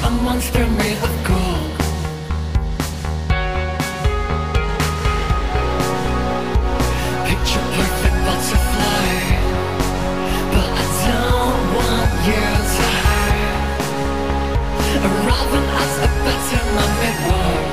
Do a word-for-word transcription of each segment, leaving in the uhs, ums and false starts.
a monster made of gold. Picture perfect butterfly, but I don't want you to hide. Arriving as a better man-made world.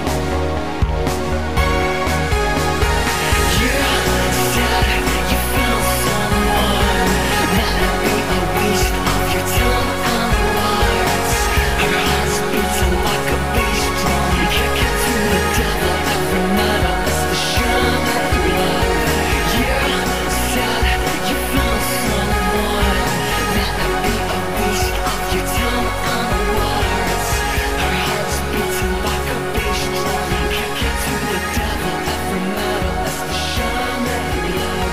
You said you found someone that'd be a waste of your time and words. Her heart's beating like a bass drum, kick it to the devil. Every matter is the shine that you love. You said you found someone that'd be a waste of your time and words. Her heart's beating like a bass drum, kick it to the devil. Every matter is the shine that you love.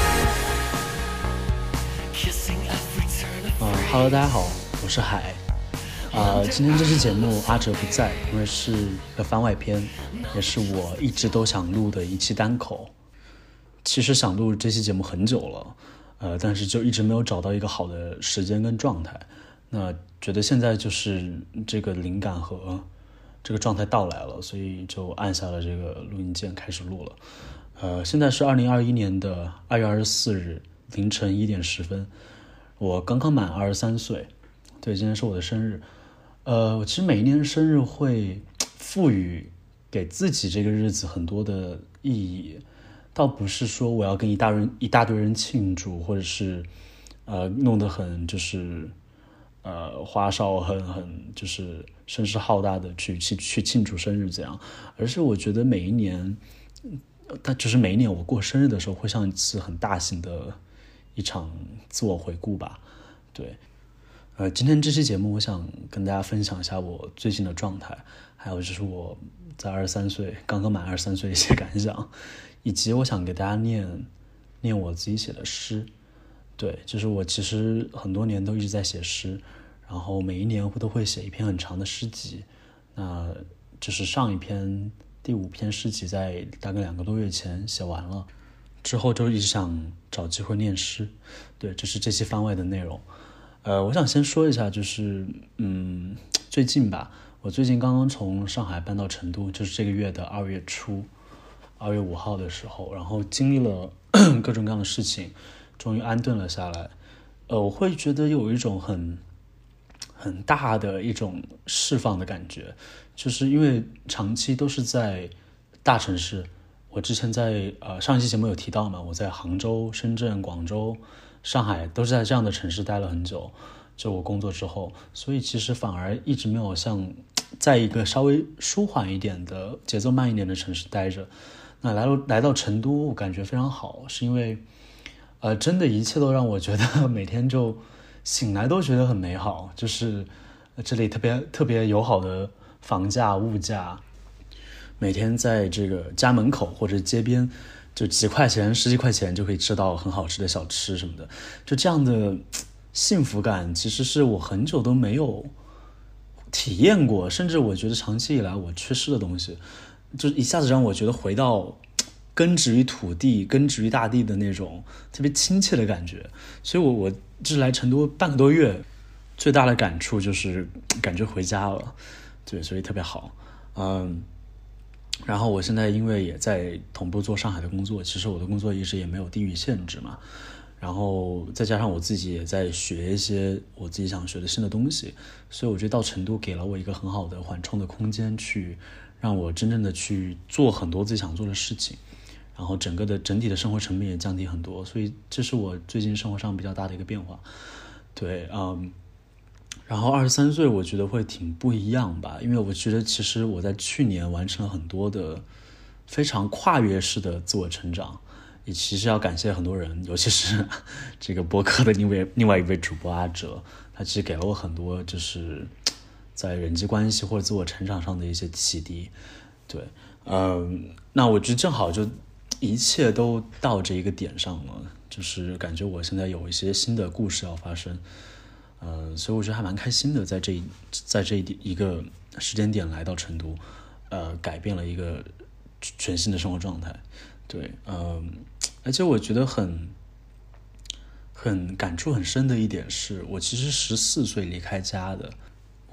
Kissing every turn of 嗯 ，Hello， 大家好，我是海。啊、呃，今天这期节目阿哲不在，因为是一个番外篇，也是我一直都想录的一期单口。其实想录这期节目很久了，呃，但是就一直没有找到一个好的时间跟状态。那觉得现在就是这个灵感和这个状态到来了，所以就按下了这个录音键开始录了。呃，现在是二零二一年的二月二十四日凌晨一点十分，我刚刚满二十三岁，对，今天是我的生日。呃，我其实每一年生日会赋予给自己这个日子很多的意义，倒不是说我要跟一大人一大堆人庆祝，或者是呃弄得很就是呃花哨很很就是声势浩大的去去去庆祝生日这样，而是我觉得每一年，但就是每一年我过生日的时候，会像一次很大型的一场自我回顾吧，对。呃，今天这期节目，我想跟大家分享一下我最近的状态，还有就是我在二十三岁刚刚满二十三岁的一些感想，以及我想给大家念念我自己写的诗。对，就是我其实很多年都一直在写诗，然后每一年都会写一篇很长的诗集。那就是上一篇第五篇诗集在大概两个多月前写完了，之后就一直想找机会念诗。对，这是这期番外的内容。呃，我想先说一下，就是嗯，最近吧，我最近刚刚从上海搬到成都，就是这个月的二月初，二月五号的时候，然后经历了各种各样的事情，终于安顿了下来。呃，我会觉得有一种很很大的一种释放的感觉，就是因为长期都是在大城市。我之前在呃上一期节目有提到嘛，我在杭州、深圳、广州、上海都是在这样的城市待了很久，就我工作之后，所以其实反而一直没有像在一个稍微舒缓一点的节奏慢一点的城市待着。那来到来到成都，我感觉非常好，是因为呃真的一切都让我觉得每天就醒来都觉得很美好，就是这里特别特别友好的房价物价，每天在这个家门口或者街边就几块钱十几块钱就可以吃到很好吃的小吃什么的，就这样的幸福感其实是我很久都没有体验过，甚至我觉得长期以来我缺失的东西，就一下子让我觉得回到根植于土地根植于大地的那种特别亲切的感觉。所以我我就是来成都半个多月，最大的感触就是感觉回家了，对，所以特别好。嗯，然后我现在因为也在同步做上海的工作，其实我的工作一直也没有地域限制嘛，然后再加上我自己也在学一些我自己想学的新的东西，所以我觉得到成都给了我一个很好的缓冲的空间，去让我真正的去做很多自己想做的事情，然后整个的整体的生活成本也降低很多，所以这是我最近生活上比较大的一个变化。对，嗯。然后二十三岁我觉得会挺不一样吧，因为我觉得其实我在去年完成了很多的非常跨越式的自我成长，也其实要感谢很多人，尤其是这个播客的另外另外一位主播阿哲，他其实给了我很多就是在人际关系或者自我成长上的一些启迪。对，嗯，那我觉得正好就一切都到这一个点上了，就是感觉我现在有一些新的故事要发生。呃，所以我觉得还蛮开心的，在这一在这一一个时间点来到成都，呃，改变了一个全新的生活状态。对，呃，而且我觉得很很感触很深的一点是，我其实十四岁离开家的，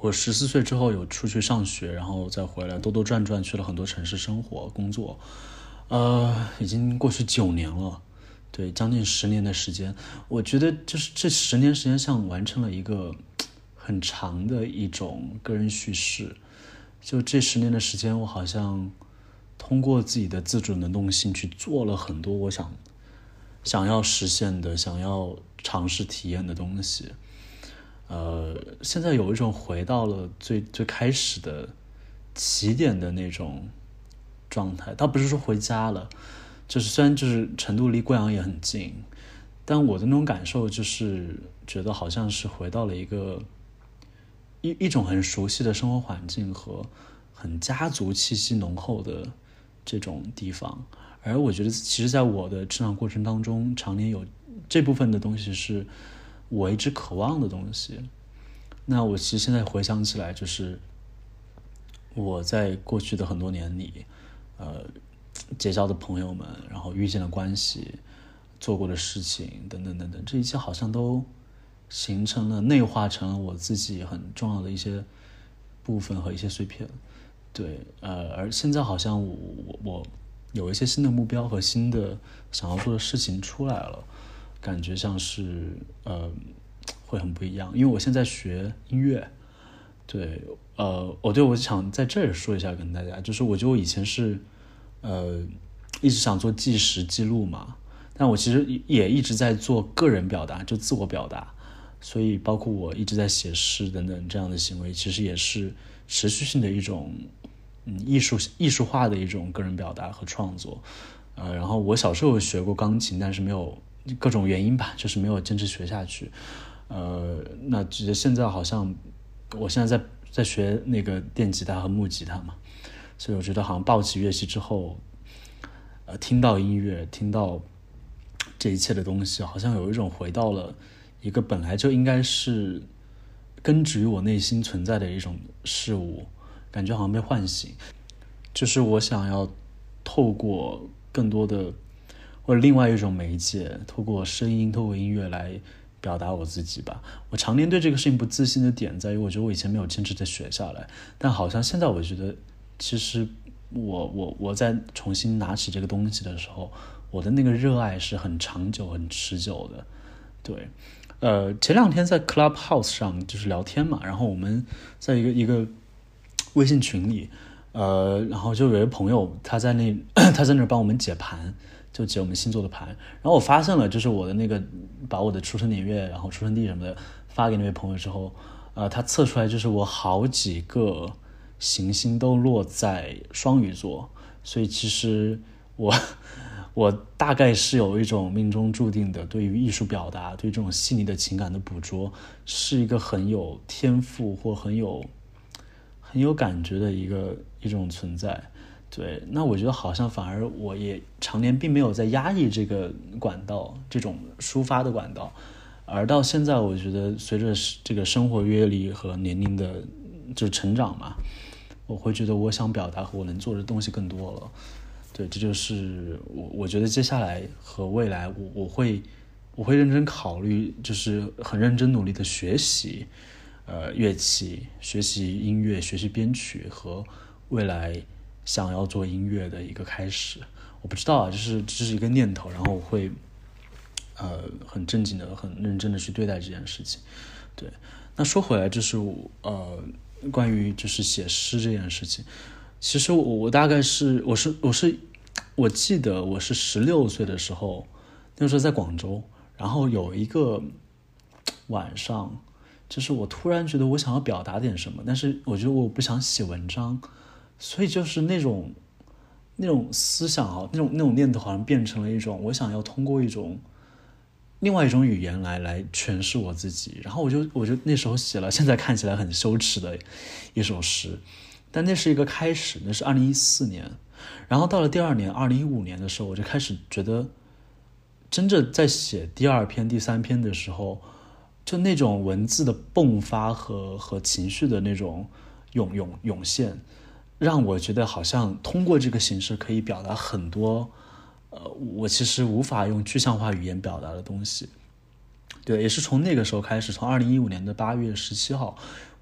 我十四岁之后有出去上学，然后再回来兜兜转转去了很多城市生活工作，呃，已经过去九年了，对，将近十年的时间。我觉得就是这十年时间像完成了一个很长的一种个人叙事。就这十年的时间，我好像通过自己的自主能动性去做了很多我想想要实现的、想要尝试体验的东西。呃，现在有一种回到了最最开始的起点的那种状态，倒不是说回家了，就是虽然就是成都离贵阳也很近，但我的那种感受就是觉得好像是回到了一个一一种很熟悉的生活环境和很家族气息浓厚的这种地方。而我觉得其实在我的成长过程当中，常年有这部分的东西是我一直渴望的东西。那我其实现在回想起来，就是我在过去的很多年里呃，结交的朋友们，然后遇见的关系，做过的事情等等等等，这一切好像都形成了内化成了我自己很重要的一些部分和一些碎片。对，呃，而现在好像我我我有一些新的目标和新的想要做的事情出来了，感觉像是呃会很不一样。因为我现在学音乐，对，呃，我对我想在这儿说一下跟大家，就是我觉得我以前是呃一直想做纪实记录嘛，但我其实也一直在做个人表达，就自我表达，所以包括我一直在写诗等等这样的行为，其实也是持续性的一种嗯艺术艺术化的一种个人表达和创作。呃，然后我小时候学过钢琴，但是没有各种原因吧，就是没有坚持学下去。呃，那觉得现在好像我现在在在学那个电吉他和木吉他嘛，所以我觉得好像抱起乐器之后，呃，听到音乐，听到这一切的东西，好像有一种回到了一个本来就应该是根植于我内心存在的一种事物，感觉好像被唤醒。就是我想要透过更多的或者另外一种媒介，透过声音，透过音乐来表达我自己吧。我常年对这个事情不自信的点在于，我觉得我以前没有坚持的学下来，但好像现在我觉得其实我我我在重新拿起这个东西的时候，我的那个热爱是很长久很持久的。对，呃，前两天在 Clubhouse 上就是聊天嘛，然后我们在一个一个微信群里，呃，然后就有一个朋友他在那他在那帮我们解盘，就解我们星座的盘。然后我发现了，就是我的那个把我的出生年月，然后出生地什么的发给那位朋友之后，呃，他测出来就是我好几个行星都落在双鱼座，所以其实我我大概是有一种命中注定的，对于艺术表达，对这种细腻的情感的捕捉，是一个很有天赋或很有很有感觉的一个一种存在。对，那我觉得好像反而我也常年并没有在压抑这个管道，这种抒发的管道，而到现在我觉得随着这个生活阅历和年龄的就成长嘛，我会觉得我想表达和我能做的东西更多了。对，这就是我我觉得接下来和未来我我会我会认真考虑，就是很认真努力的学习呃乐器，学习音乐，学习编曲，和未来想要做音乐的一个开始。我不知道啊，就是这是一个念头，然后我会呃很正经的很认真的去对待这件事情。对，那说回来就是呃关于就是写诗这件事情，其实我我大概是我是我是我记得我是十六岁的时候，那时候在广州，然后有一个晚上，就是我突然觉得我想要表达点什么，但是我觉得我不想写文章，所以就是那种那种思想啊，那种那种念头好像变成了一种我想要通过一种另外一种语言来来诠释我自己。然后我就我就那时候写了现在看起来很羞耻的一首诗，但那是一个开始，那是二零一四年。然后到了第二年二零一五年的时候，我就开始觉得真正在写第二篇第三篇的时候，就那种文字的迸发和和情绪的那种涌涌涌现，让我觉得好像通过这个形式可以表达很多呃，我其实无法用具象化语言表达的东西。对，也是从那个时候开始，从二零一五年的八月十七号，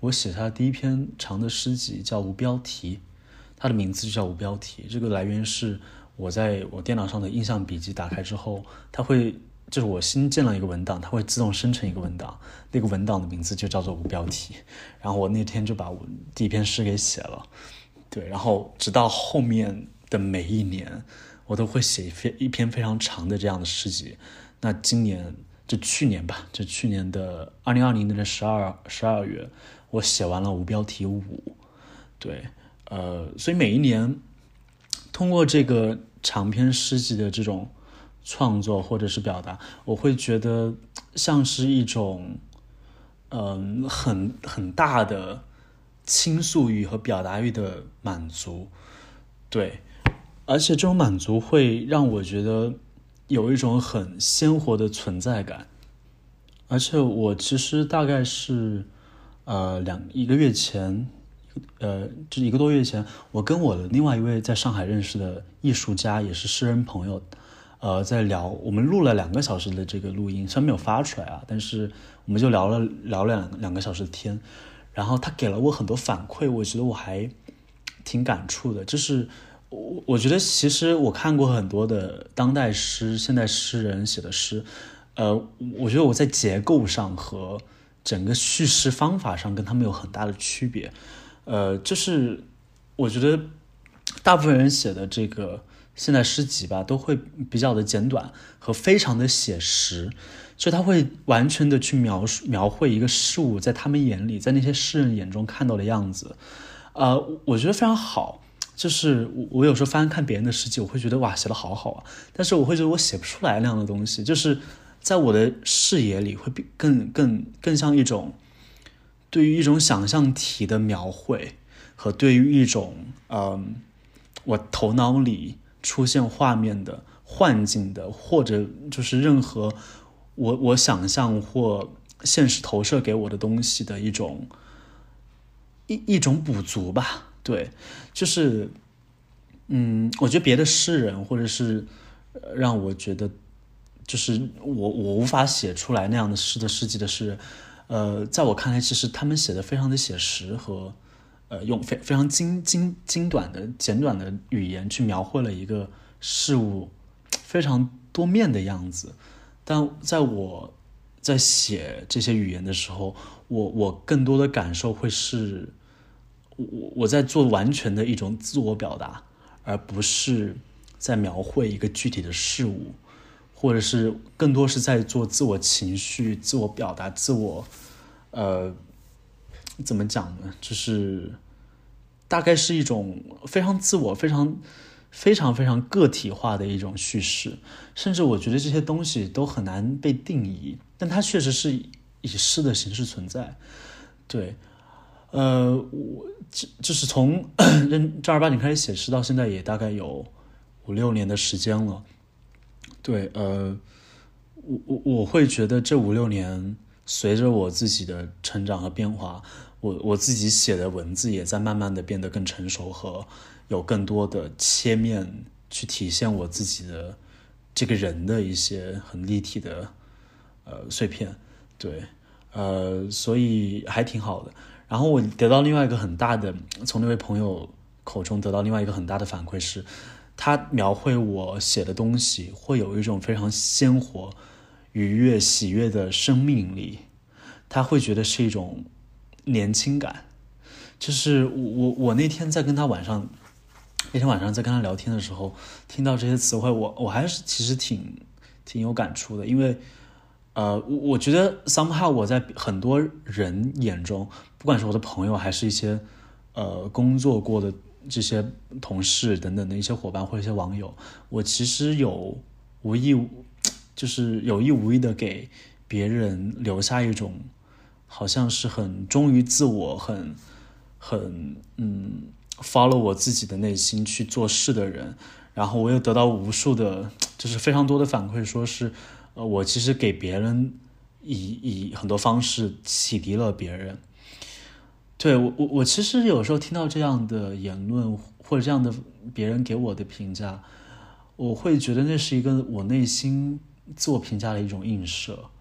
我写下的第一篇长的诗集叫无标题，它的名字就叫无标题。这个来源是我在我电脑上的印象笔记打开之后，它会就是我新建了一个文档，它会自动生成一个文档，那个文档的名字就叫做无标题。然后我那天就把我第一篇诗给写了，对，然后直到后面的每一年我都会写一篇非常长的这样的诗集。那今年就去年吧，就去年的二零二零年的十二十二月，我写完了无标题五。对，呃，所以每一年通过这个长篇诗集的这种创作或者是表达，我会觉得像是一种嗯、呃、很很大的倾诉欲和表达欲的满足。对，而且这种满足会让我觉得有一种很鲜活的存在感。而且我其实大概是呃两一个月前呃就一个多月前，我跟我的另外一位在上海认识的艺术家也是诗人朋友呃在聊，我们录了两个小时的这个录音，虽然没有发出来啊，但是我们就聊了聊了两两个小时的天。然后他给了我很多反馈，我觉得我还挺感触的。就是我我觉得其实我看过很多的当代诗现代诗人写的诗，呃，我觉得我在结构上和整个叙事方法上跟他们有很大的区别。呃，就是我觉得大部分人写的这个现代诗集吧，都会比较的简短和非常的写实，就他会完全的去描述描绘一个事物在他们眼里，在那些诗人眼中看到的样子。呃，我觉得非常好。就是我我有时候翻看别人的诗集，我会觉得哇写得好好啊，但是我会觉得我写不出来那样的东西，就是在我的视野里会更更更像一种对于一种想象体的描绘，和对于一种嗯我头脑里出现画面的幻境的，或者就是任何我我想象或现实投射给我的东西的一种一一种补足吧。对，就是嗯我觉得别的诗人或者是让我觉得就是我我无法写出来那样的诗的诗集的诗人，呃，在我看来其实他们写的非常的写实，和呃用非非常精精精短的简短的语言去描绘了一个事物非常多面的样子。但在我在写这些语言的时候，我我更多的感受会是我我在做完全的一种自我表达，而不是在描绘一个具体的事物，或者是更多是在做自我情绪、自我表达、自我呃怎么讲呢？就是大概是一种非常自我、非常非常非常个体化的一种叙事。甚至我觉得这些东西都很难被定义，但它确实是以诗的形式存在。对，呃，我就是从正儿八经开始写诗到现在也大概有五六年的时间了。对，呃，我我我会觉得这五六年随着我自己的成长和变化，我我自己写的文字也在慢慢的变得更成熟，和有更多的切面去体现我自己的这个人的一些很立体的呃碎片。对，呃，所以还挺好的。然后我得到另外一个很大的，从那位朋友口中得到另外一个很大的反馈是，他描绘我写的东西会有一种非常鲜活、愉悦、喜悦的生命力，他会觉得是一种年轻感。就是我我那天在跟他晚上那天晚上在跟他聊天的时候，听到这些词汇，我我还是其实挺挺有感触的。因为呃，我觉得 somehow 我在很多人眼中，不管是我的朋友还是一些呃工作过的这些同事等等的一些伙伴或者一些网友，我其实有无意就是有意无意的给别人留下一种好像是很忠于自我，很很嗯 follow 我自己的内心去做事的人。然后我又得到无数的就是非常多的反馈，说是呃，我其实给别人以以很多方式启迪了别人。对，我我我其实有时候听到这样的言论或者这样的别人给我的评价，我会觉得那是一个我内心自我评价的一种映射。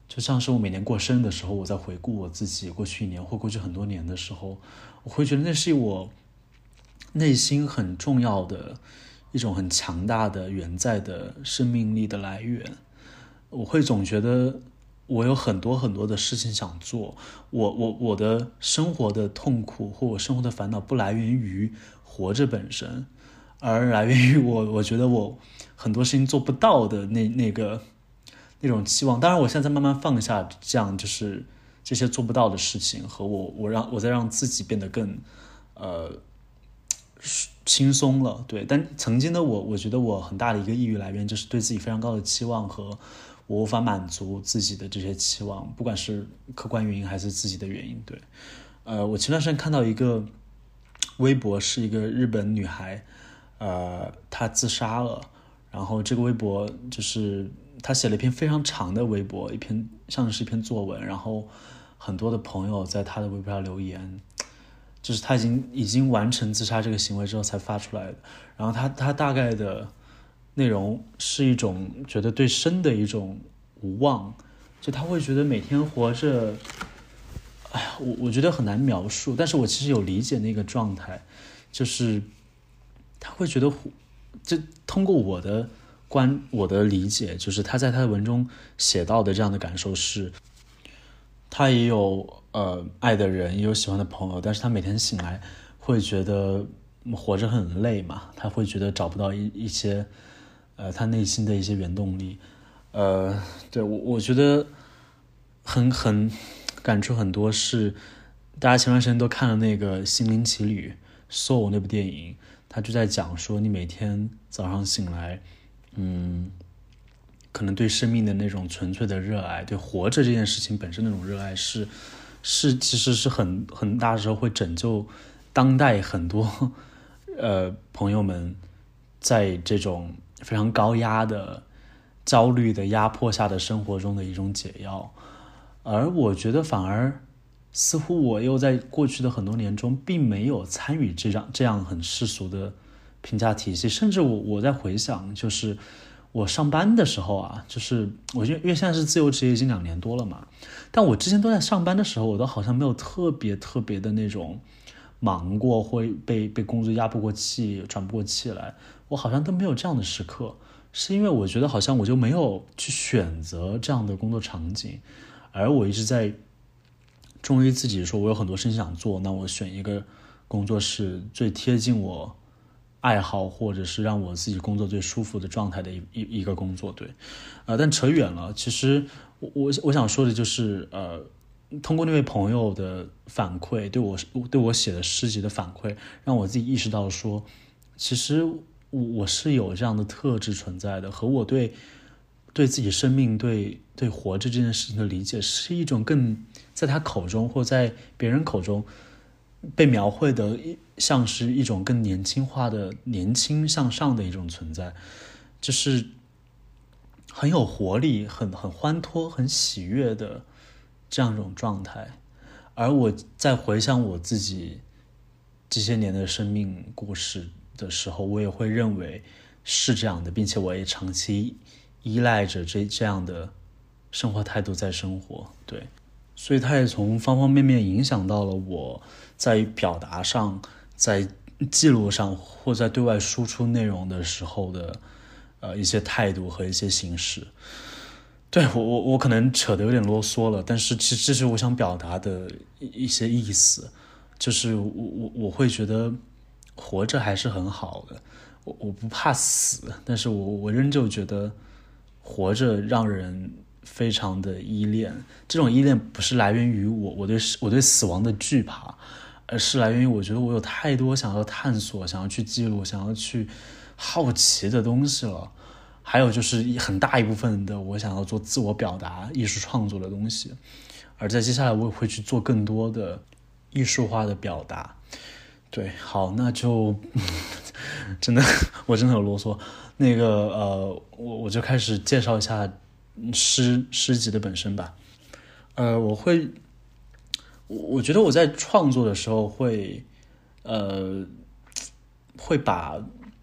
就像是我每年过生日的时候，我在回顾我自己过去一年或过去很多年的时候，我会觉得那是我内心很重要的一种很强大的远在的生命力的来源。我会总觉得我有很多很多的事情想做，我我我的生活的痛苦或我生活的烦恼不来源于活着本身，而来源于我我觉得我很多事情做不到的那那个那种期望。当然我现在慢慢放下这样就是这些做不到的事情，和我我让我在让自己变得更呃轻松了。对，但曾经的我我觉得我很大的一个抑郁来源就是对自己非常高的期望，和我无法满足自己的这些期望，不管是客观原因还是自己的原因。对，呃，我前段时间看到一个微博，是一个日本女孩，呃，她自杀了。然后这个微博就是她写了一篇非常长的微博，一篇像是一篇作文，然后很多的朋友在她的微博上留言，就是她已经已经完成自杀这个行为之后才发出来的。然后她她大概的内容是一种觉得对生的一种无望，就他会觉得每天活着，哎呀，我我觉得很难描述，但是我其实有理解那个状态，就是他会觉得，就通过我的观我的理解，就是他在他的文中写到的这样的感受是，他也有呃爱的人，也有喜欢的朋友，但是他每天醒来会觉得活着很累嘛，他会觉得找不到一一些呃他内心的一些原动力。呃，对，我我觉得很很感触很多是，大家前段时间都看了那个《心灵奇旅》Soul 那部电影，他就在讲说，你每天早上醒来，嗯，可能对生命的那种纯粹的热爱，对活着这件事情本身那种热爱是，是其实是很很大时候会拯救当代很多呃朋友们在这种非常高压的焦虑的压迫下的生活中的一种解药。而我觉得反而似乎我又在过去的很多年中并没有参与这样这样很世俗的评价体系，甚至我我在回想，就是我上班的时候啊，就是我因为现在是自由职业已经两年多了嘛，但我之前都在上班的时候，我都好像没有特别特别的那种忙过，会被被工作压迫过气，喘不过气来，我好像都没有这样的时刻。是因为我觉得好像我就没有去选择这样的工作场景，而我一直在忠于自己，说我有很多事情想做，那我选一个工作是最贴近我爱好或者是让我自己工作最舒服的状态的一一一个工作。对，呃，但扯远了。其实我我我想说的就是，呃，通过那位朋友的反馈，对我对我写的诗集的反馈，让我自己意识到说，其实我是有这样的特质存在的，和我对对自己生命对对活着这件事情的理解是一种更在他口中或在别人口中被描绘的像是一种更年轻化的年轻向上的一种存在，就是很有活力，很很欢脱，很喜悦的这样一种状态。而我在回想我自己这些年的生命故事的时候，我也会认为是这样的，并且我也长期依赖着这这样的生活态度在生活。对，所以它也从方方面面影响到了我在表达上，在记录上，或在对外输出内容的时候的呃一些态度和一些形式。对，我我我可能扯得有点啰嗦了，但是其实这是我想表达的一些意思，就是我我我会觉得活着还是很好的，我我不怕死，但是我我仍旧觉得活着让人非常的依恋。这种依恋不是来源于我我对我对死亡的惧怕，而是来源于我觉得我有太多想要探索、想要去记录、想要去好奇的东西了。还有就是很大一部分的我想要做自我表达、艺术创作的东西，而在接下来我也会去做更多的艺术化的表达。对，好，那就真的我真的有啰嗦。那个呃，我我就开始介绍一下诗诗集的本身吧。呃，我会，我觉得我在创作的时候会，呃，会把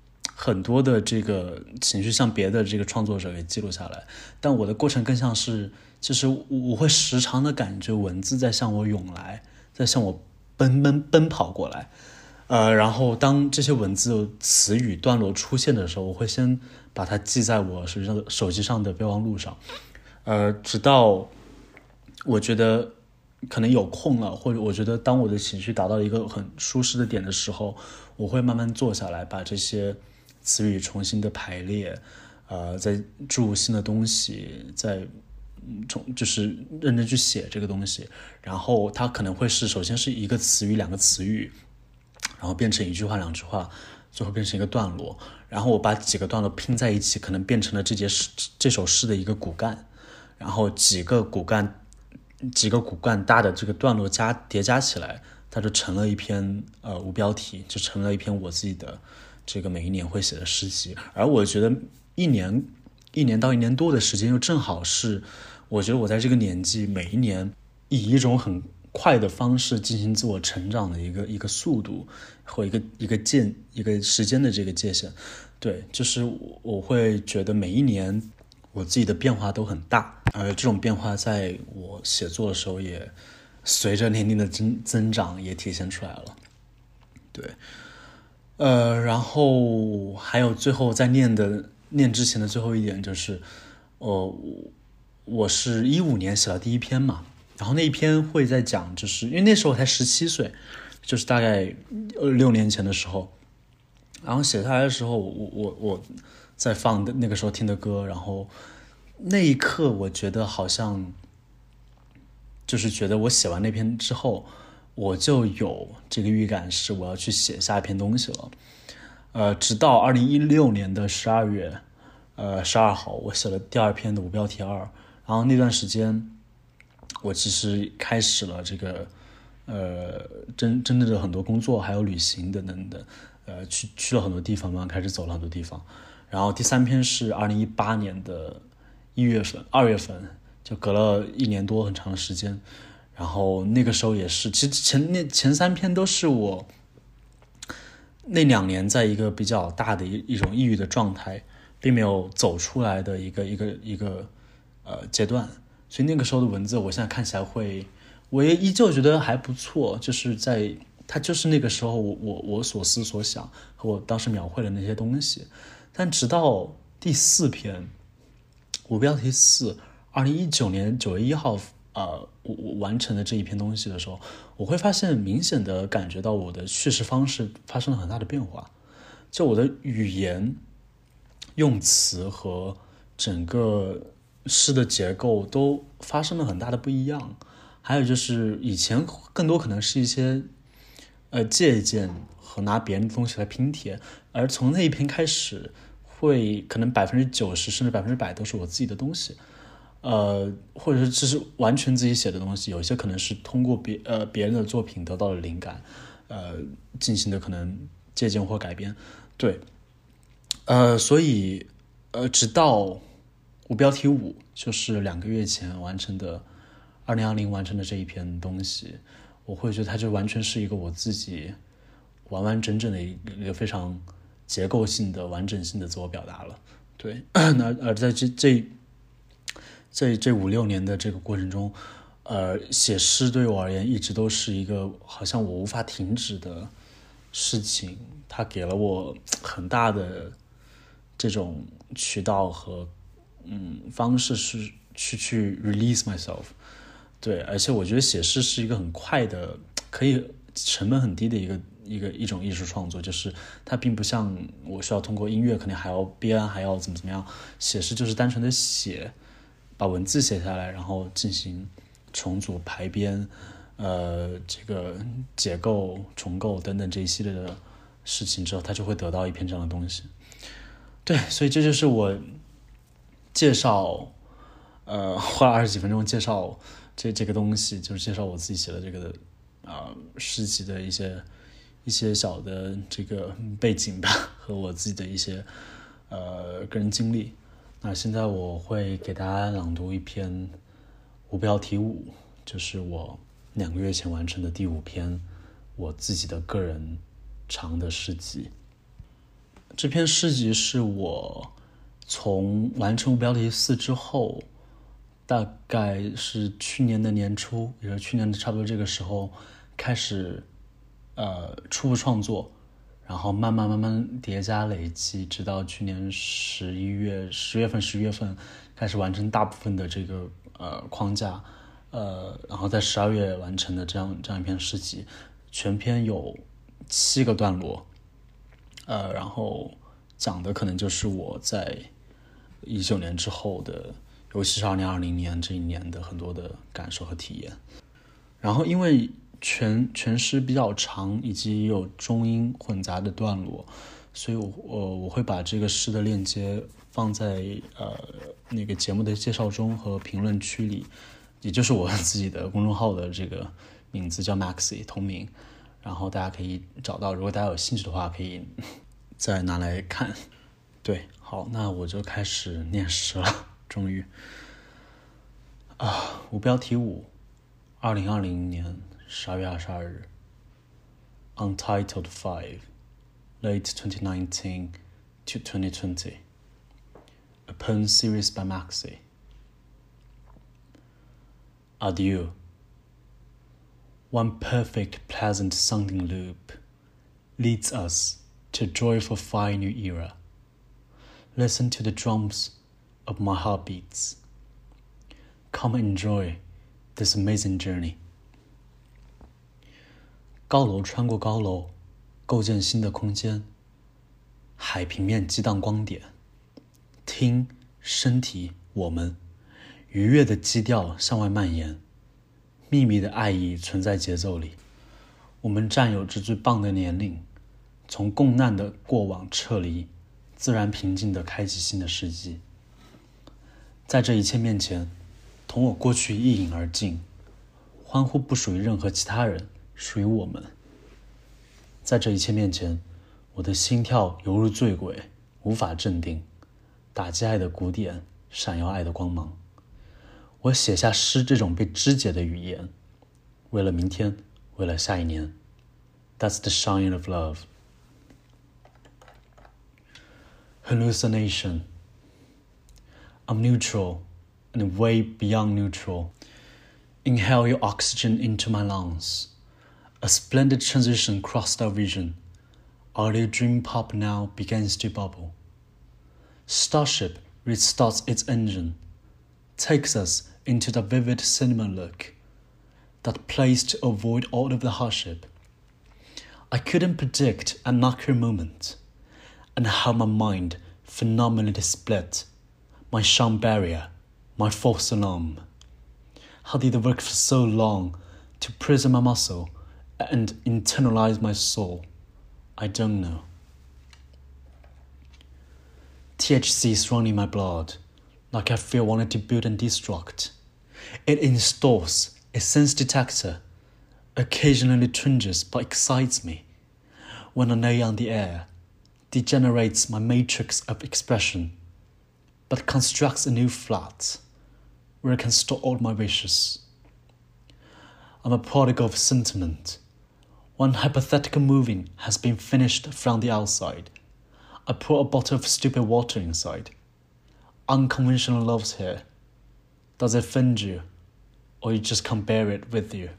很多的这个情绪向别的这个创作者给记录下来，但我的过程更像是，就是我会时常的感觉文字在向我涌来，在向我奔奔奔跑过来。呃，然后当这些文字、词语、段落出现的时候，我会先把它记在我手机上的手机上的备忘录上，呃，直到我觉得可能有空了，或者我觉得当我的情绪达到一个很舒适的点的时候，我会慢慢坐下来，把这些词语重新的排列，呃，再注入新的东西，再重就是认真去写这个东西，然后它可能会是首先是一个词语、两个词语。然后变成一句话两句话，最后变成一个段落，然后我把几个段落拼在一起，可能变成了这节诗这首诗的一个骨干，然后几个骨干几个骨干大的这个段落加叠加起来，它就成了一篇呃无标题，就成了一篇我自己的这个每一年会写的诗集。而我觉得一年一年到一年多的时间，又正好是我觉得我在这个年纪每一年以一种很快的方式进行自我成长的一个一个速度或一个一个界一个时间的这个界限。对，就是我会觉得每一年我自己的变化都很大，而这种变化在我写作的时候也随着年龄的增增长也体现出来了。对，呃，然后还有最后在念的念之前的最后一点就是，呃，我是一五年写了第一篇嘛。然后那一篇会在讲，就是因为那时候我才十七岁，就是大概六年前的时候，然后写下来的时候，我我我在放那个时候听的歌，然后那一刻我觉得好像就是觉得我写完那篇之后，我就有这个预感是我要去写下一篇东西了。呃，直到二零一六年的十二月，呃十二号，我写了第二篇的无标题二，然后那段时间。我其实开始了这个，呃，真真正的很多工作，还有旅行等等的，呃，去去了很多地方嘛，开始走了很多地方。然后第三篇是二零一八年的一月份、二月份，就隔了一年多很长的时间。然后那个时候也是，其实前那前三篇都是我那两年在一个比较大的一一种抑郁的状态，并没有走出来的一个一个一个呃阶段。所以那个时候的文字，我现在看起来会，我也依旧觉得还不错，就是在它就是那个时候我我我所思所想和我当时描绘的那些东西。但直到第四篇，无标题四，二零一九年九月一号，呃，我我完成的这一篇东西的时候，我会发现明显的感觉到我的叙事方式发生了很大的变化，就我的语言、用词和整个。诗的结构都发生了很大的不一样，还有就是以前更多可能是一些呃借鉴和拿别人的东西来拼贴，而从那一篇开始，会可能百分之九十甚至百分之百都是我自己的东西，呃，或者是这是完全自己写的东西，有一些可能是通过别呃别人的作品得到了灵感，呃进行的可能借鉴或改编，对，呃，所以呃直到。无标题五就是两个月前完成的，二零二零完成的这一篇东西，我会觉得它就完全是一个我自己完完整整的一个非常结构性的完整性的自我表达了。对，那而在这这这这五六年的这个过程中，呃，写诗对我而言一直都是一个好像我无法停止的事情，它给了我很大的这种渠道和。嗯，方式是去去 release myself， 对，而且我觉得写诗是一个很快的，可以成本很低的一个一个一种艺术创作，就是它并不像我需要通过音乐，肯定还要编，还要怎么怎么样，写诗就是单纯的写，把文字写下来，然后进行重组、排编，呃，这个解构、重构等等这一系列的事情之后，它就会得到一篇这样的东西。对，所以这就是我。介绍，呃，花了二十几分钟介绍这这个东西，就是介绍我自己写的这个啊、呃、诗集的一些一些小的这个背景吧，和我自己的一些呃个人经历。那现在我会给大家朗读一篇无标题五，就是我两个月前完成的第五篇我自己的个人长的诗集。 这篇诗集是我从完成无标题四之后，大概是去年的年初，也是去年的差不多这个时候开始呃初步创作，然后慢慢慢慢叠加累积，直到去年十一月十月份十月份开始完成大部分的这个呃框架，呃，然后在十二月完成的这样这样一篇诗集，全篇有七个段落，呃，然后讲的可能就是我在一九年之后的，尤其是二零二零年这一年的很多的感受和体验。然后因为全全诗比较长，以及有中英混杂的段落，所以我我我会把这个诗的链接放在呃那个节目的介绍中和评论区里，也就是我自己的公众号的这个名字叫 Maxi 同名，然后大家可以找到，如果大家有兴趣的话，可以再拿来看。对，好，那我就开始念诗了，终于啊，无标题五，二零二零年十二月二十二日 ，Untitled Five, late twenty nineteen to twenty twenty, a poem series by Maxi. Adieu. One perfect, pleasant sounding loop leads us to a joyful fine new era. Listen to the drums of my heartbeats. Come enjoy this amazing journey. 高楼穿过高楼，构建新的空间。海平面激荡光点，听身体我们愉悦的基调向外蔓延，秘密的爱意存在节奏里。我们占有着最棒的年龄，从共难的过往撤离，自然平静地开启新的世纪。在这一切面前，同我过去一饮而尽，欢呼不属于任何其他人，属于我们。在这一切面前，我的心跳犹如醉鬼，无法镇定，打击爱的鼓点，闪耀爱的光芒。我写下诗这种被肢解的语言，为了明天，为了下一年。That's the shine of love. Hallucination. I'm neutral, and way beyond neutral. Inhale your oxygen into my lungs. A splendid transition crossed our vision. Our little dream pop now begins to bubble. Starship restarts its engine, takes us into the vivid cinema look, that place to avoid all of the hardship. I couldn't predict an accurate moment, and how my mind phenomenally split, my sound barrier, my false alarm. How did it work for so long to prison my muscle and internalize my soul? I don't know. T H C is running my blood, like I feel wanted to build and destruct. It installs a sense detector, occasionally twinges but excites me. When I lay on the air, degenerates my matrix of expression, but constructs a new flat, where I can store all my wishes. I'm a prodigal of sentiment. One hypothetical movie has been finished from the outside. I pour a bottle of stupid water inside. Unconventional love's here. Does it offend you, or you just can't bear it with you?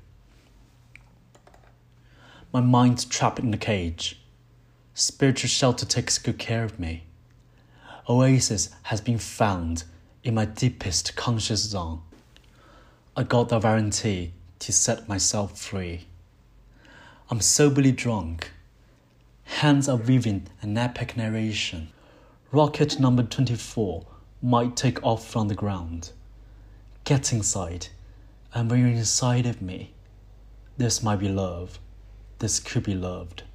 My mind's trapped in a cage. Spiritual shelter takes good care of me. Oasis has been found in my deepest conscious zone. I got the guarantee to set myself free. I'm soberly drunk. Hands are weaving an epic narration. Rocket number twenty-four might take off from the ground. Get inside, and when you're inside of me, this might be love. This could be loved.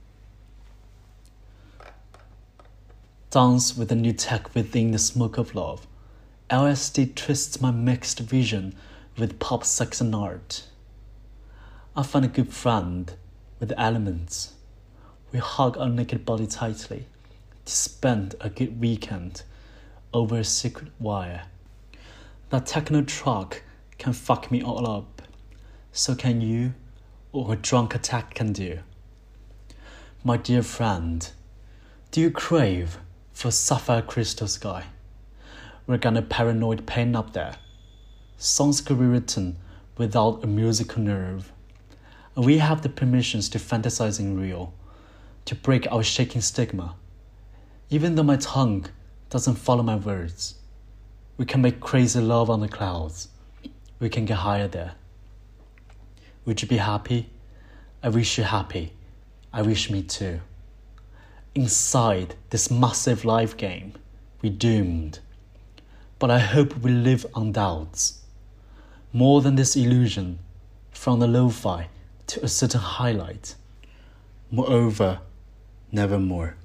Dance with the new tech within the smoke of love. L S D twists my mixed vision with pop, sex, and art. I find a good friend with the elements. We hug our naked body tightly to spend a good weekend over a secret wire. That techno truck can fuck me all up. So can you, or a drunk attack can do. My dear friend, Do you crave for sapphire crystal sky? We're gonna paranoid pen up there. Songs could be written without a musical nerve. And we have the permissions to fantasizing real, to break our shaking stigma. Even though my tongue doesn't follow my words, we can make crazy love on the clouds. We can get higher there. Would you be happy? I wish you happy. I wish me too. Inside this massive life game, we're doomed. But I hope we live on doubts. More than this illusion, from the lo-fi to a certain highlight. Moreover, nevermore.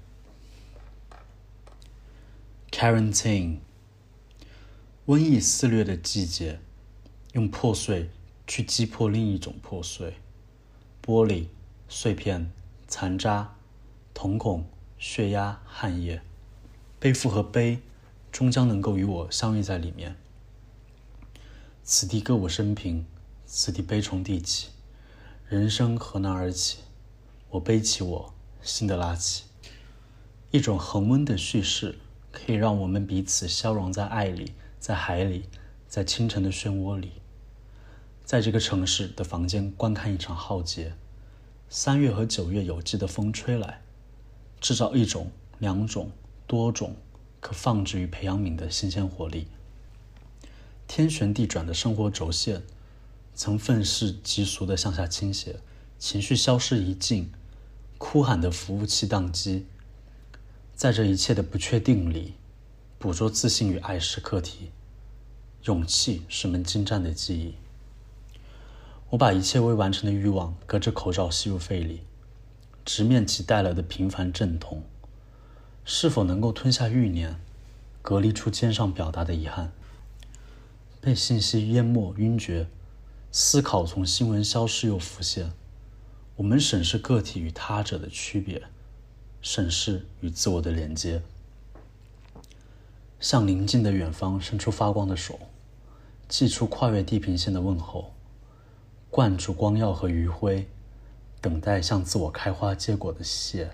Quarantine. 瘟疫肆虐的季节，用破碎去击破另一种破碎。玻璃、碎片、残渣、瞳孔、血压、汗液，背负和悲，终将能够与我相遇在里面。此地歌舞升平，此地悲从地起，人生何难而起？我背起我，新的拉起。一种恒温的叙事，可以让我们彼此消融在爱里，在海里，在清晨的漩涡里。在这个城市的房间观看一场浩劫，三月和九月有机的风吹来，制造一种、两种、多种可放置于培养皿的新鲜活力。天旋地转的生活轴线，曾愤世嫉俗的向下倾斜，情绪消失一尽，哭喊的服务器宕机。在这一切的不确定里，捕捉自信与爱是课题，勇气是门精湛的技艺。我把一切未完成的欲望隔着口罩吸入肺里，直面其带来的平凡阵痛。是否能够吞下欲念，隔离出肩上表达的遗憾？被信息淹没晕厥，思考从新闻消失又浮现。我们审视个体与他者的区别，审视与自我的连接。向宁静的远方伸出发光的手，寄出跨越地平线的问候，灌注光耀和余晖，等待向自我开花结果的谢。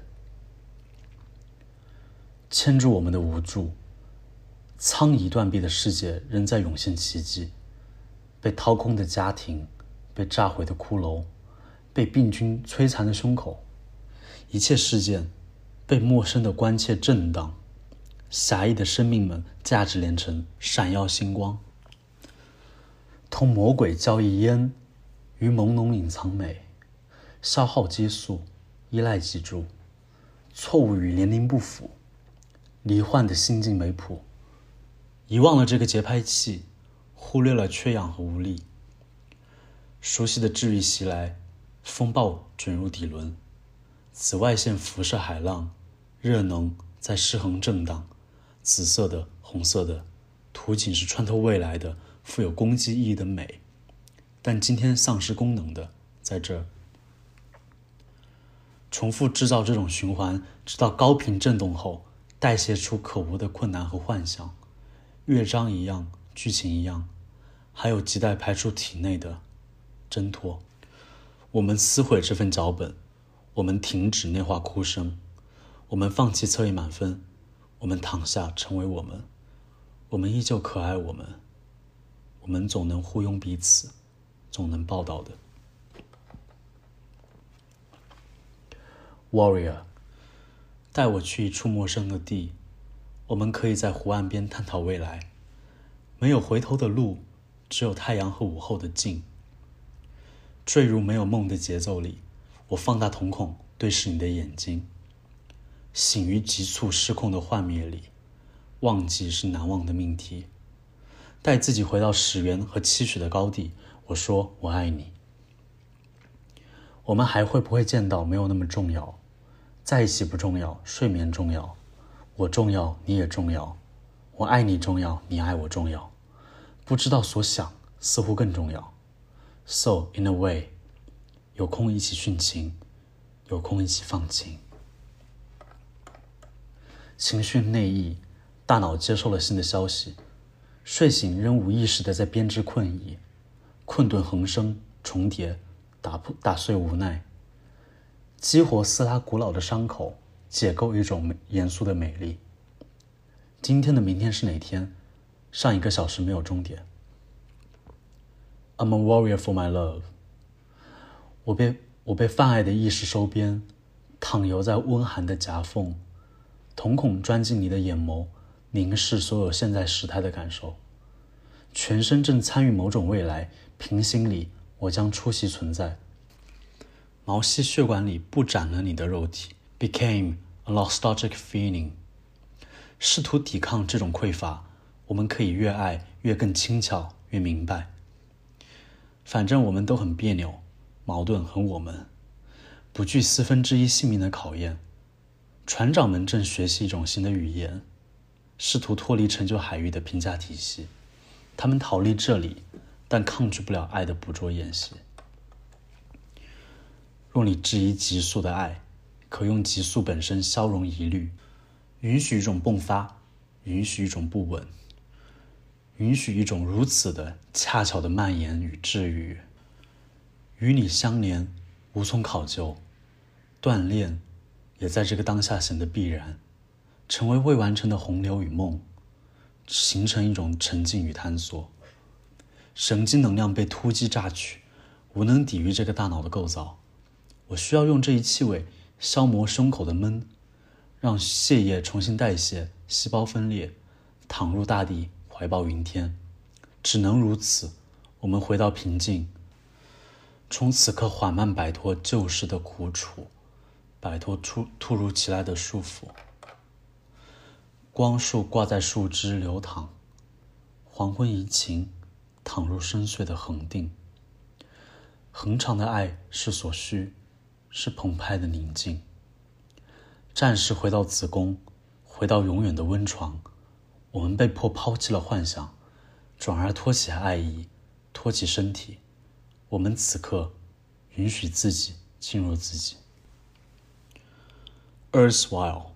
牵住我们的无助，苍夷断臂的世界仍在涌现奇迹。被掏空的家庭，被炸毁的骷髅，被病菌摧残的胸口，一切事件被陌生的关切震荡。狭义的生命们价值连城，闪耀星光。同魔鬼交易烟与朦胧隐藏美，消耗激素，依赖脊柱，错误与年龄不符，罹患的心境没谱，遗忘了这个节拍器，忽略了缺氧和无力。熟悉的治愈袭来，风暴卷入底轮，紫外线辐射海浪，热能在失衡震荡，紫色的、红色的，图景是穿透未来的，富有攻击意义的美，但今天丧失功能的，在这儿。重复制造这种循环，直到高频震动后，代谢出可无的困难和幻想，乐章一样，剧情一样，还有亟待排出体内的挣脱。我们撕毁这份脚本，我们停止内化哭声，我们放弃测验满分，我们躺下成为我们，我们依旧可爱我们，我们总能互拥彼此，总能报道的。Warrior， 带我去一处陌生的地，我们可以在湖岸边探讨未来。没有回头的路，只有太阳和午后的静。坠入没有梦的节奏里，我放大瞳孔对视你的眼睛。醒于急促失控的幻灭里，忘记是难忘的命题。带自己回到始源和期许的高地，我说我爱你。我们还会不会见到没有那么重要，在一起不重要，睡眠重要，我重要你也重要，我爱你重要，你爱我重要，不知道所想似乎更重要。 So in a way， 有空一起殉情，有空一起放晴。情绪内溢，大脑接受了新的消息，睡醒仍无意识地在编织困意，困顿横生重叠，打破打碎无奈，激活撕拉古老的伤口， 解构一种严肃的美丽。今天的明天是哪天？上一个小时没有终点。I'm a warrior for my love。我被我被泛爱的意识收编，躺游在温寒的夹缝，瞳孔钻进你的眼眸，凝视所有现在时态的感受。全身正参与某种未来，平行里我将出席存在。毛细血管里布展了你的肉体 became a nostalgic feeling。 试图抵抗这种匮乏，我们可以越爱越更轻巧，越明白。反正我们都很别扭，矛盾很我们，不惧四分之一性命的考验。船长们正学习一种新的语言，试图脱离成就海域的评价体系。他们逃离这里，但抗拒不了爱的捕捉演习。若你质疑急速的爱，可用急速本身消融疑虑，允许一种迸发，允许一种不稳，允许一种如此的恰巧的蔓延与治愈。与你相连，无从考究，锻炼也在这个当下显得必然，成为未完成的洪流与梦，形成一种沉浸与探索。神经能量被突击榨取，无能抵御这个大脑的构造。我需要用这一气味消磨胸口的闷，让血液重新代谢，细胞分裂，躺入大地，怀抱云天。只能如此，我们回到平静，从此刻缓慢摆脱旧时的苦楚，摆脱突突如其来的束缚。光束挂在树枝流淌，黄昏移情，躺入深邃的恒定。恒长的爱是所需，是澎湃的宁静。暂时回到子宫，回到永远的温床。我们被迫抛弃了幻想，转而托起爱意，托起身体。我们此刻允许自己进入自己。 Erstwhile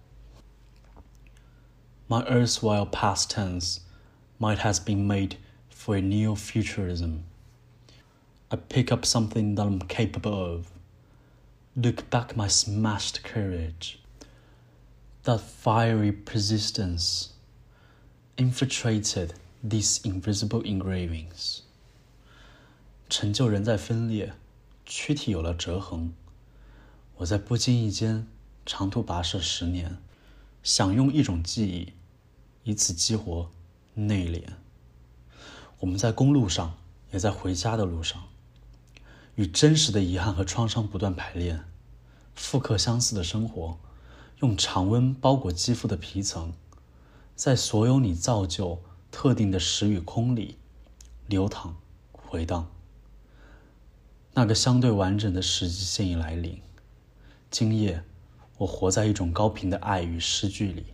My erstwhile past tense might have been made for a neo-futurism. I pick up something that I'm capable of, look back my smashed courage, that fiery persistence infiltrated these invisible engravings. 成就仍在分裂，躯体有了折痕。我在不经意间长途跋涉十年，想用一种记忆以此激活内敛。我们在公路上，也在回家的路上，与真实的遗憾和创伤不断排练，复刻相似的生活，用常温包裹肌肤的皮层，在所有你造就特定的时与空里流淌回荡。那个相对完整的时机现已来临，今夜我活在一种高频的爱与诗句里。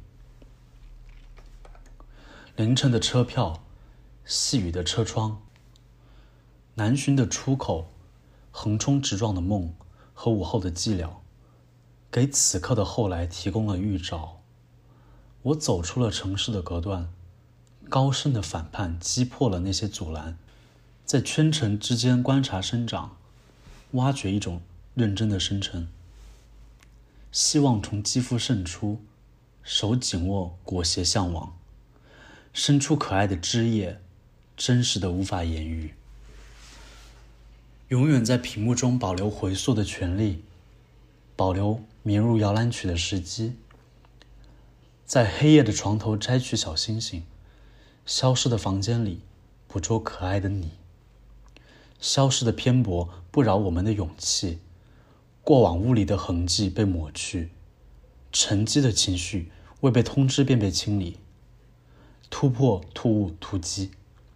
凌晨的车票，细雨的车窗，难寻的出口，横冲直撞的梦和午后的寂寥，给此刻的后来提供了预兆。我走出了城市的隔断，高声的反叛击破了那些阻拦，在圈层之间观察生长，挖掘一种认真的生成。希望从肌肤渗出，手紧握裹挟向往，伸出可爱的枝叶，真实的无法言喻。永远在屏幕中保留回溯的权利，保留绵入摇篮曲的时机。在黑夜的床头摘取小星星，消失的房间里捕捉可爱的你。消失的偏颇不扰我们的勇气，过往物理的痕迹被抹去，沉积的情绪未被通知便被清理，突破突兀突击。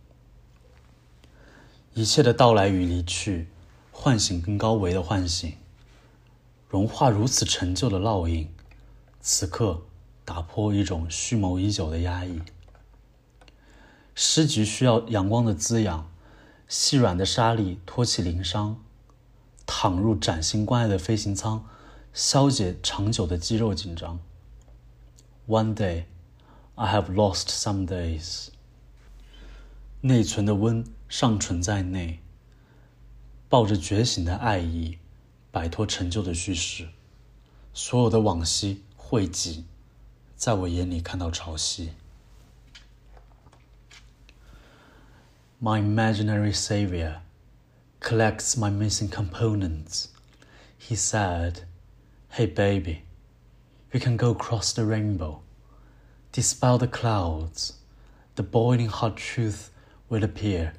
一切的到来与离去，唤醒更高维的唤醒，融化如此陈旧的烙印，此刻打破一种蓄谋已久的压抑。诗集需要阳光的滋养，细软的沙粒托起鳞伤，躺入崭新关爱的飞行舱，消解长久的肌肉紧张。One day, I have lost some days. 内存的温尚存在内，抱着觉醒的爱意，摆脱陈旧的叙事。所有的往昔汇集，在我眼里看到潮汐。My imaginary savior collects my missing components. He said, "Hey baby, we can go across the rainbow. Dispel the clouds. The boiling hot truth will appear.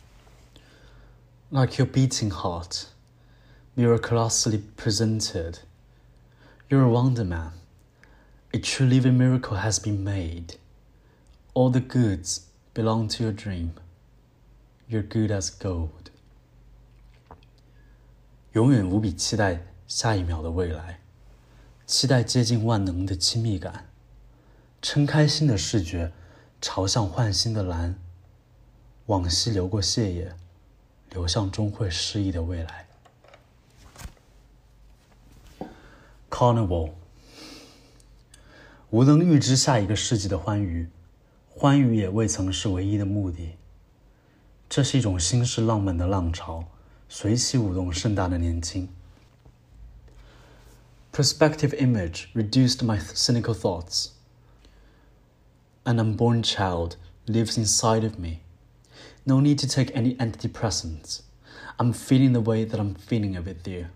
Like your beating heart, miraculously presented. You're a wonder man. A true living miracle has been made. All the goods belong to your dream. You're good as gold." 永远无比期待下一秒的未来，期待接近万能的亲密感，撑开新的视觉，朝向焕新的蓝。往昔流过泻液，流向终会失意的未来。Carnival， 无能预知下一个世纪的欢愉，欢愉也未曾是唯一的目的。这是一种新式浪漫的浪潮，随起舞动盛大的年轻。Perspective image reduced my cynical thoughts. An unborn child lives inside of me. No need to take any antidepressants. I'm feeling the way that I'm feeling it with you.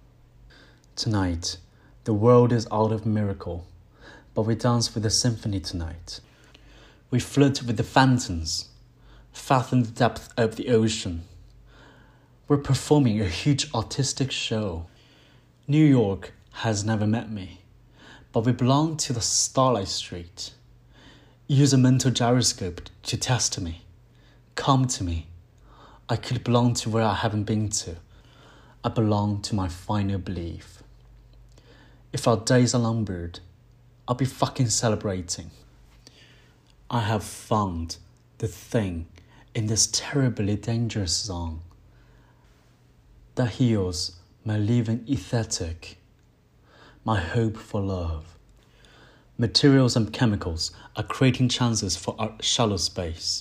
Tonight, the world is out of miracle, but we dance with the symphony tonight. We flirt with the phantoms, fathom the depth of the ocean. We're performing a huge artistic show. New York has never met me, but we belong to the Starlight Street. Use a mental gyroscope to test me. Come to me. I could belong to where I haven't been to. I belong to my final belief. If our days are numbered, I'll be fucking celebrating. I have found the thing in this terribly dangerous song that heals my living aesthetic, my hope for love. Materials and chemicals are creating chances for our shallow space.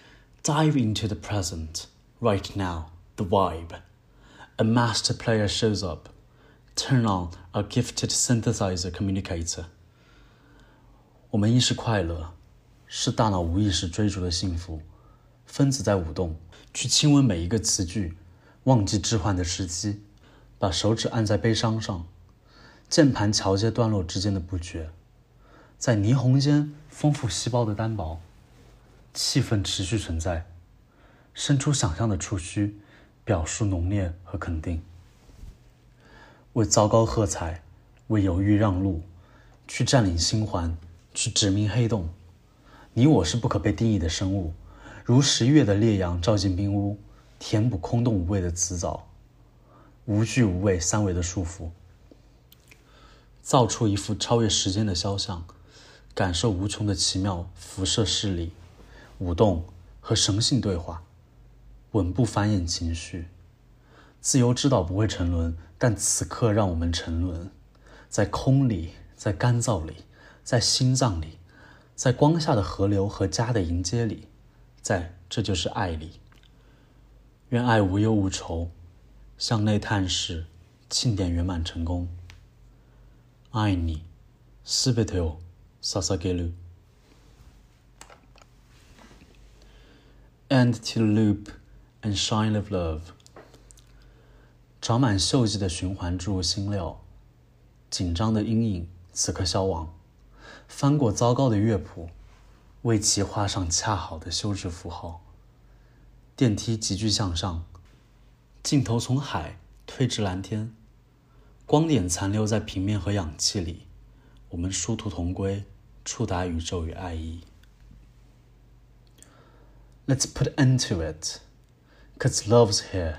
Dive into the present, right now, the vibe. A master player shows up. Turn on our gifted synthesizer communicator. 我们意识快乐，是大脑无意识追逐的幸福。分子在舞动，去亲吻每一个词句，忘记置换的时机，把手指按在悲伤上，键盘桥接段落之间的不绝，在霓虹间丰富细胞的单薄，气氛持续存在，伸出想象的触须，表述浓烈和肯定。为糟糕喝彩，为犹豫让路，去占领星环，去殖民黑洞。你我是不可被定义的生物，如十一月的烈阳照进冰屋，填补空洞无味的词藻，无惧无畏三维的束缚，造出一幅超越时间的肖像，感受无穷的奇妙辐射势力，舞动和神性对话，稳步繁衍情绪。自由知道不会沉沦，但此刻让我们沉沦，在空里，在干燥里，在心脏里，在光下的河流和家的迎接里，在这就是爱里。愿爱无忧无愁，向内探视，庆典圆满成功。爱你，すべてを捧げる。End to the loop and shine of love。长满锈迹的循环注入新料，紧张的阴影此刻消亡，翻过糟糕的乐谱，为其画上恰好的休止符号。电梯急剧向上，镜头从海推至蓝天，光点残留在平面和氧气里，我们殊途同归，触达宇宙与爱意。Let's put an end to it, 'cause love's here.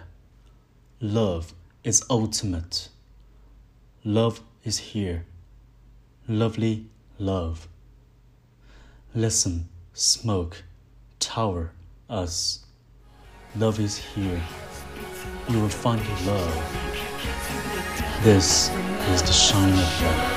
Love is ultimate. Love is here. Lovely love. Listen, smoke, tower, us. Love is here. You will find love. This is the shine of love.